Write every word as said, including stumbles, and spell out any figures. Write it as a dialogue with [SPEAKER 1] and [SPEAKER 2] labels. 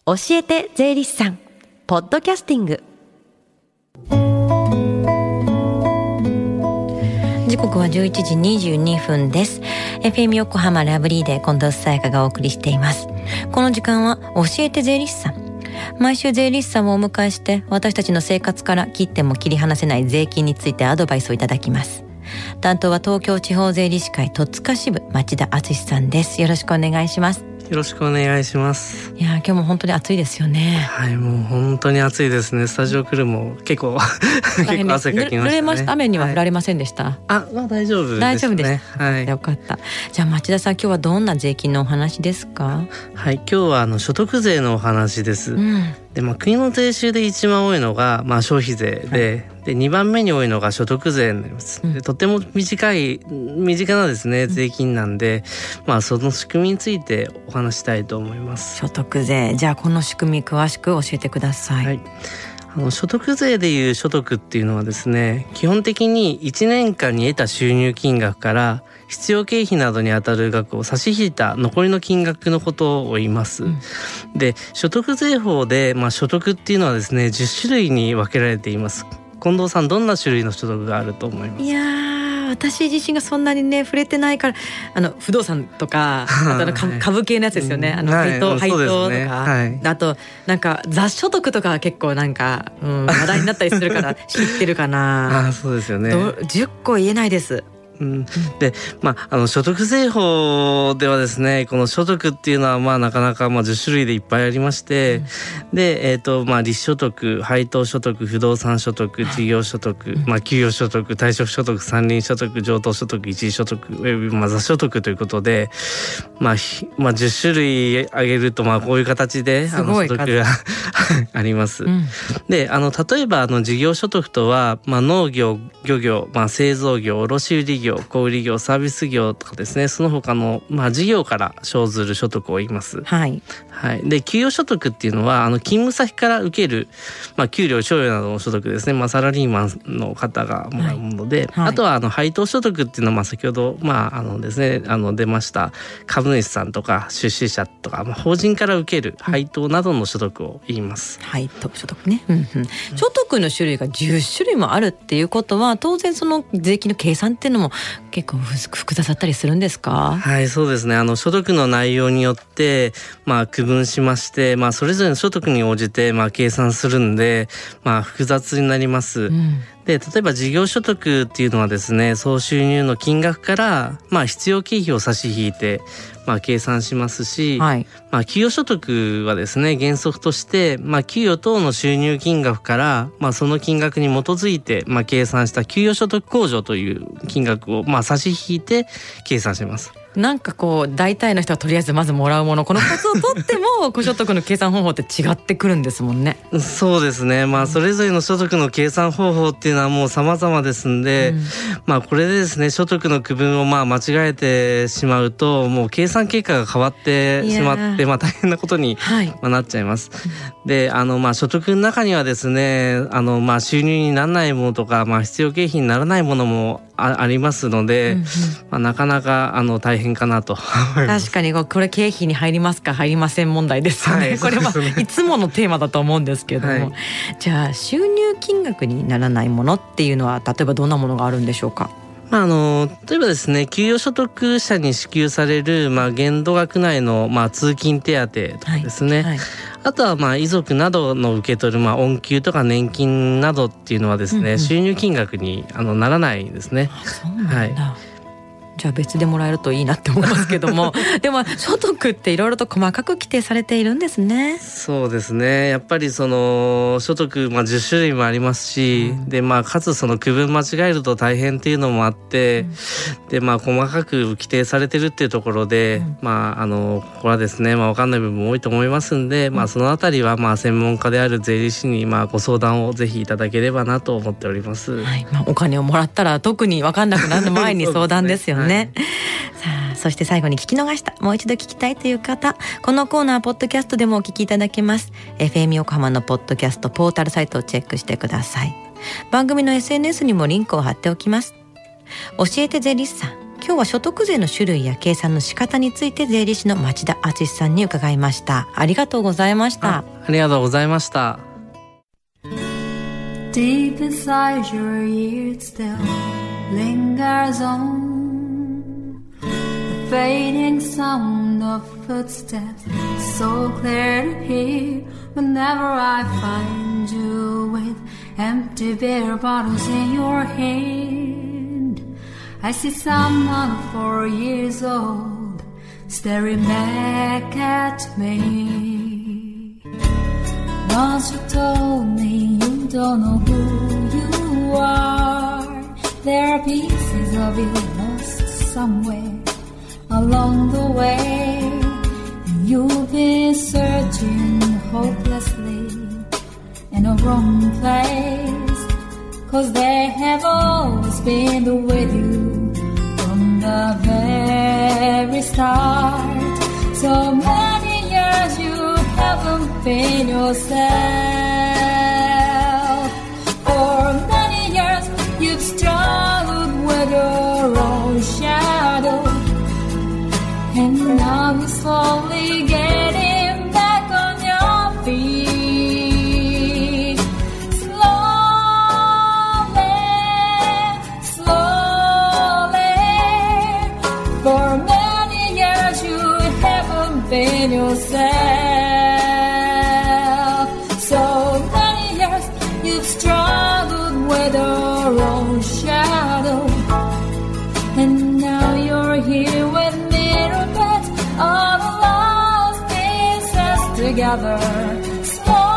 [SPEAKER 1] 教えて税理士さんポッドキャスティング。
[SPEAKER 2] 時刻はじゅういちじにじゅうにふんです。 エフエム 横浜ラブリーで近藤沙耶香がお送りしています。この時間は教えて税理士さん。毎週税理士さんをお迎えして私たちの生活から切っても切り離せない税金についてアドバイスをいただきます。担当は東京地方税理士会戸塚支部町田敦さんです。よろしくお願いします。
[SPEAKER 3] よろしくお願いします。
[SPEAKER 2] いや今日も本当に暑いですよね。
[SPEAKER 3] はい、もう本当に暑いですね。スタジオ来るも結構結構汗かきましたね。
[SPEAKER 2] 濡れました。雨には降られませんでした、はい、
[SPEAKER 3] あ、まあ大丈夫ですね。
[SPEAKER 2] 大丈夫です、
[SPEAKER 3] はい、
[SPEAKER 2] よかった。じゃあ町田さん、今日はどんな税金のお話ですか？
[SPEAKER 3] はい、今日はあの所得税のお話です、うんでまあ、国の税収で一番多いのが、まあ、消費税で、はいでにばんめに多いのが所得税になります、うん、でとても短い身近なですね税金なんで、うんまあ、その仕組みについてお話したいと思います。
[SPEAKER 2] 所得税、じゃあこの仕組み詳しく教えてください。
[SPEAKER 3] はい、あの所得税でいう所得っていうのはですね、基本的にいちねんかんに得た収入金額から必要経費などにあたる額を差し引いた残りの金額のことを言います、うん、で所得税法で、まあ、所得っていうのはですねじゅっしゅるいに分けられています。近藤さん、どんな種類の所得があると思います？
[SPEAKER 2] いやー、私自身がそんなにね触れてないから、あの不動産とかあとの株系のやつですよね、あの配当、はい、配当とか、ねはい、あとなんか雑所得とか結構なんか、うん、話題になったりするから知ってるかな。
[SPEAKER 3] あ、そうですよね。
[SPEAKER 2] じゅっこ言えないです。
[SPEAKER 3] うん、で、まあ、あの所得税法ではですね、この所得っていうのはまあなかなかまあじゅっしゅるいでいっぱいありまして、うん、で、えーとまあ、利子所得、配当所得、不動産所得、事業所得、うんまあ、給与所得、退職所得、山林所得、譲渡所得、一時所得、およびまあ雑所得ということで、まあまあ、じゅっしゅるい挙げるとまあこういう形であの所得があります、うん、であの例えばあの事業所得とは、まあ、農業、漁業、まあ、製造業、卸売業、小売業、サービス業とかですね、その他の、まあ、事業から生ずる所得を言います。はい。はい。で、給与所得っていうのは、あの勤務先から受ける、まあ、給料、賞与などの所得ですね。まあ、サラリーマンの方がもらうもので、はいはい、あとはあの配当所得っていうのは、まあ、先ほど、まあ、あのですね、あの出ました株主さんとか出資者とか、まあ、法人から受ける配当などの所得を言います。
[SPEAKER 2] うん、配当所得ね。うんうん。所得の種類がじゅっしゅるいもあるっていうことは、当然その税金の計算っていうのも結構複雑だったりするんですか？
[SPEAKER 3] はい、そうですね。あの所得の内容によって、まあ、区分しまして、まあ、それぞれの所得に応じて、まあ、計算するんで、まあ、複雑になります。うんで例えば事業所得っていうのはですね、総収入の金額から、まあ、必要経費を差し引いて、まあ、計算しますし、はいまあ、給与所得はですね、原則として、まあ、給与等の収入金額から、まあ、その金額に基づいて、まあ、計算した給与所得控除という金額を、まあ、差し引いて計算します。
[SPEAKER 2] なんかこう大体の人はとりあえずまずもらうもの、このコツを取ってもご所得の計算方法って違ってくるんですもんね。
[SPEAKER 3] そうですね、まあ、それぞれの所得の計算方法っていうのはもう様々ですんで、うんまあ、これでですね所得の区分をまあ間違えてしまうと、もう計算結果が変わってしまって、まあ、大変なことに、はいまあ、なっちゃいます。であの、まあ、所得の中にはですね、あの、まあ、収入にならないものとか、まあ、必要経費にならないものも あ, ありますので、うんうんまあ、なかなかあの大変かなと思います。
[SPEAKER 2] 確かにこれ経費に入りますか入りません問題ですよね、はい、これはいつものテーマだと思うんですけども、はい、じゃあ収入金額にならないものっていうのは例えばどんなものがあるんでしょうか？
[SPEAKER 3] まあ、あの例えばですね、給与所得者に支給される、まあ、限度額内の、まあ、通勤手当とかですね、はいはい、あとはまあ遺族などの受け取る、まあ、恩給とか年金などっていうのはですね、うんうん、収入金額にあのならないですね。
[SPEAKER 2] あ、そうなんだ、はい、じゃあ別でもらえるといいなって思いますけどもでも所得っていろいろと細かく規定されているんですね。
[SPEAKER 3] そうですね、やっぱりその所得、まあ、じゅっしゅるいもありますし、うんでまあ、かつその区分間違えると大変っていうのもあって、うんでまあ、細かく規定されてるっていうところで、うんまあ、あのここはですね、まあ、分かんない部分も多いと思いますんで、うんまあ、そのあたりはまあ専門家である税理士にまあご相談をぜひいただければなと思っております、
[SPEAKER 2] はいまあ、お金をもらったら特に分かんなくなる前に相談ですよねね、はい、さあそして最後に聞き逃した、もう一度聞きたいという方、このコーナーポッドキャストでもお聞きいただけます。 エフエム 横浜のポッドキャストポータルサイトをチェックしてください。番組の エスエヌエス にもリンクを貼っておきます。教えて税理士さん、今日日は所得税の種類や計算の仕方について税理士の町田敦さんに伺いました。ありがとうございました。
[SPEAKER 3] あ, ありがとうございました。
[SPEAKER 4] Deep inside your ears still lingers on the fading sound of footsteps, so clear to hear whenever I find you with empty beer bottles in your hand. I see someone four years old staring back at me. Once you told me you don't know who you are. There are pieces of you lost somewhere along the way, and you've been searching hopelessly in a wrong place, 'cause they have always been with you from the very start. So many years you haven't been yourself. For many years you've struggled with your own shadow, and now you're slowly getting back on your feet. Slowly, slowly. For many years you haven't been yourself. So many years you've struggled with your own shadow, and now you're here with little bits of lost pieces together. Slow